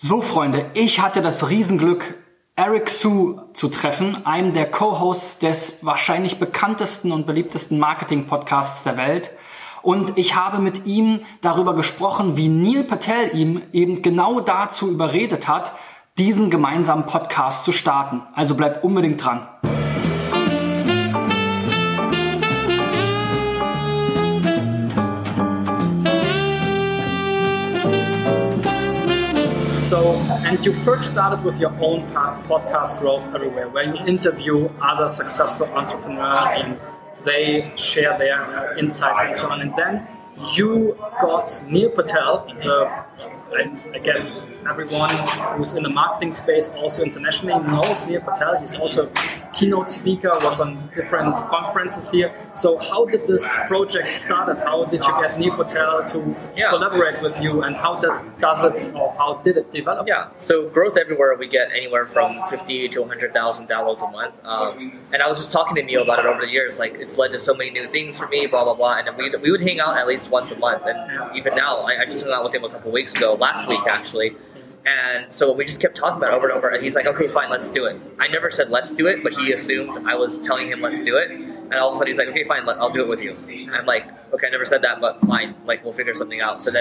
So, Freunde, ich hatte das Riesenglück, Eric Siu zu treffen, einem der Co-Hosts des wahrscheinlich bekanntesten und beliebtesten Marketing-Podcasts der Welt. Und ich habe mit ihm darüber gesprochen, wie Neil Patel ihm eben genau dazu überredet hat, diesen gemeinsamen Podcast zu starten. Also bleibt unbedingt dran. So, and you first started with your own podcast, Growth Everywhere, where you interview other successful entrepreneurs and they share their insights and so on. And then you got Neil Patel, I guess everyone who's in the marketing space, also internationally, knows Neil Patel. He's also a keynote speaker, was on different conferences here. So how did this project start? How did you get Neil Patel to collaborate with you, and how did it develop? Yeah, so Growth Everywhere, we get anywhere from 50 to 100,000 downloads a month. And I was just talking to Neil about it over the years. Like, it's led to so many new things for me, blah, blah, blah. And we would hang out at least once a month. And even now, I just hung out with him a couple weeks ago, last week actually. And so we just kept talking about it over and over. And he's like, okay, fine, let's do it. I never said let's do it, but he assumed I was telling him let's do it. And all of a sudden he's like, okay, fine, I'll do it with you. And I'm like, okay, I never said that, but fine, like, we'll figure something out. So then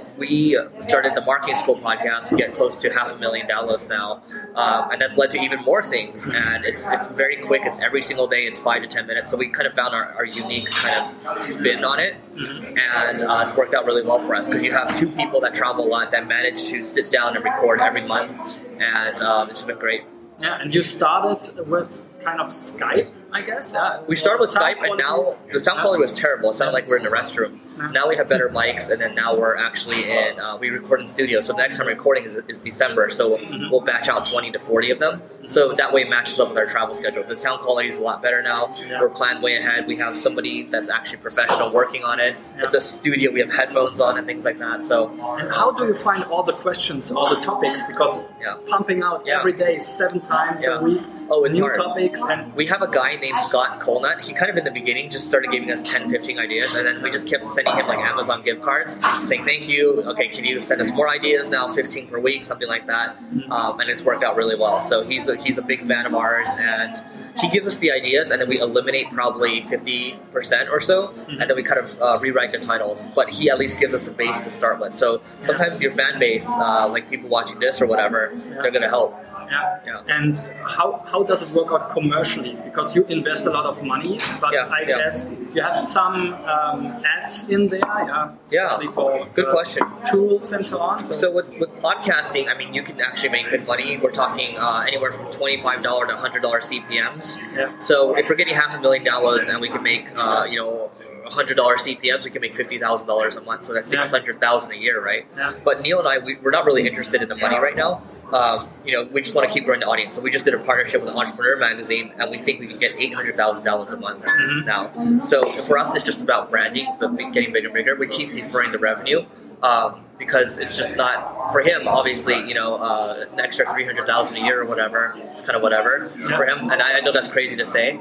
we started the Marketing School podcast, get close to 500,000 downloads now. And that's led to even more things. And it's very quick. It's every single day. It's 5 to 10 minutes. So we kind of found our unique kind of spin on it. And it's worked out really well for us because you have two people that travel a lot that manage to sit down and record every month. And it's been great. Yeah, and you started with kind of Skype, I guess. Yeah. We started with Skype, and now the sound quality was terrible. It sounded like we're in the restroom. Now we have better mics, and then now we're actually in. We record in studio. So the next time we're recording is December. So we'll batch out 20 to 40 of them. So that way it matches up with our travel schedule. The sound quality is a lot better now. We're planned way ahead. We have somebody that's actually professional working on it. It's a studio. We have headphones on and things like that. So. And how do you find all the questions, all the topics? Because pumping out every day 7 times a week, it's new hard. Topics. And we have a guy named Scott Colnut. He kind of in the beginning just started giving us 10, 15 ideas, and then we just kept sending him like Amazon gift cards saying thank you. Okay, can you send us more ideas now? 15 per week, something like that. And it's worked out really well. So he's a big fan of ours, and he gives us the ideas, and then we eliminate probably 50% or so, and then we kind of rewrite the titles. But he at least gives us a base to start with. So sometimes your fan base, like people watching this or whatever, they're going to help. Yeah. And how does it work out commercially? Because you invest a lot of money, but I guess you have some ads in there, especially for good question. Tools and so on. So with podcasting, I mean, you can actually make good money. We're talking anywhere from $25 to $100 CPMs. Yeah. So if we're getting 500,000 downloads and we can make $100 CPMs, we can make $50,000 a month. So that's $600,000 a year, right? Yeah. But Neil and I, we're not really interested in the money right now. We just want to keep growing the audience. So we just did a partnership with Entrepreneur Magazine, and we think we can get 800,000 downloads a month now. So for us, it's just about branding, but getting bigger and bigger. We keep deferring the revenue. Because it's just not for him. Obviously, an extra 300,000 a year or whatever. It's kind of whatever for him. And I know that's crazy to say.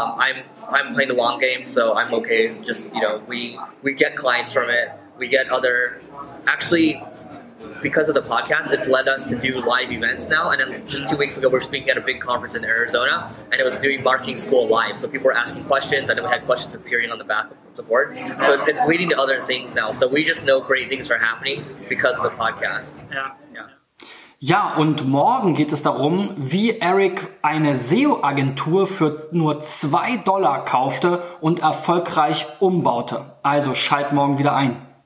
I'm playing the long game, so I'm okay. Just we get clients from it. We get other actually. Because of the podcast, it's led us to do live events now. And then just 2 weeks ago, we were speaking at a big conference in Arizona, and it was doing Marketing School live. So people were asking questions, and then we had questions appearing on the back of the board. So it's leading to other things now. So we just know great things are happening because of the podcast. Ja, und morgen geht es darum, wie Eric eine SEO-Agentur für nur $2 kaufte und erfolgreich umbaute. Also schalt morgen wieder ein.